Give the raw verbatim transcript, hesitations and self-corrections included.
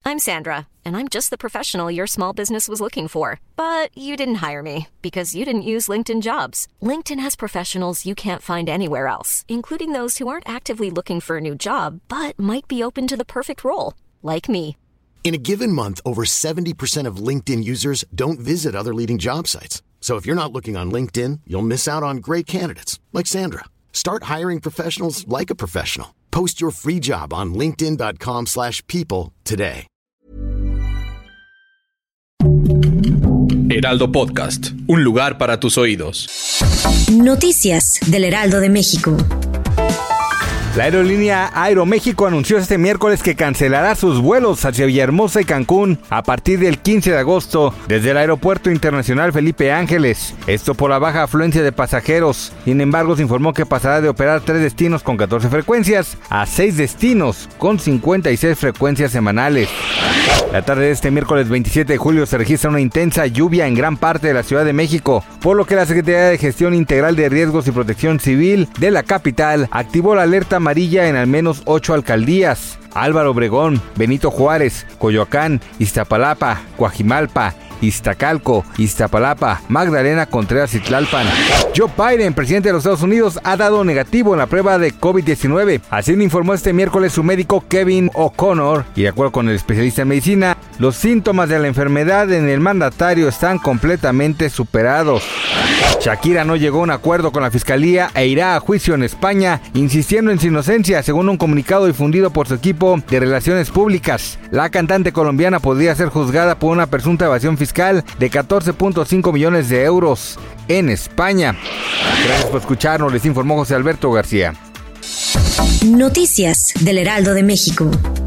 I'm Sandra, and I'm just the professional your small business was looking for. But you didn't hire me because you didn't use LinkedIn Jobs. LinkedIn has professionals you can't find anywhere else, including those who aren't actively looking for a new job, but might be open to the perfect role, like me. In a given month, over seventy percent of LinkedIn users don't visit other leading job sites. So if you're not looking on LinkedIn, you'll miss out on great candidates, like Sandra. Start hiring professionals like a professional. Post your free job on linkedin.com slash people today. Heraldo Podcast, un lugar para tus oídos. Noticias del Heraldo de México. La aerolínea Aeroméxico anunció este miércoles que cancelará sus vuelos hacia Villahermosa y Cancún a partir del quince de agosto desde el Aeropuerto Internacional Felipe Ángeles. Esto por la baja afluencia de pasajeros. Sin embargo, se informó que pasará de operar tres destinos con catorce frecuencias a seis destinos con cincuenta y seis frecuencias semanales. La tarde de este miércoles veintisiete de julio se registra una intensa lluvia en gran parte de la Ciudad de México, por lo que la Secretaría de Gestión Integral de Riesgos y Protección Civil de la capital activó la alerta amarilla en al menos ocho alcaldías: Álvaro Obregón, Benito Juárez, Coyoacán, Iztapalapa, Coajimalpa, Iztacalco, Iztapalapa, Magdalena Contreras y Tlalpan. Joe Biden, presidente de los Estados Unidos, ha dado negativo en la prueba de covid diecinueve. Así lo informó este miércoles su médico Kevin O'Connor, y de acuerdo con el especialista en medicina, los síntomas de la enfermedad en el mandatario están completamente superados. Shakira no llegó a un acuerdo con la fiscalía e irá a juicio en España, insistiendo en su inocencia, según un comunicado difundido por su equipo de relaciones públicas. La cantante colombiana podría ser juzgada por una presunta evasión fiscal de catorce punto cinco millones de euros en España. Gracias por escucharnos, les informó José Alberto García. Noticias del Heraldo de México.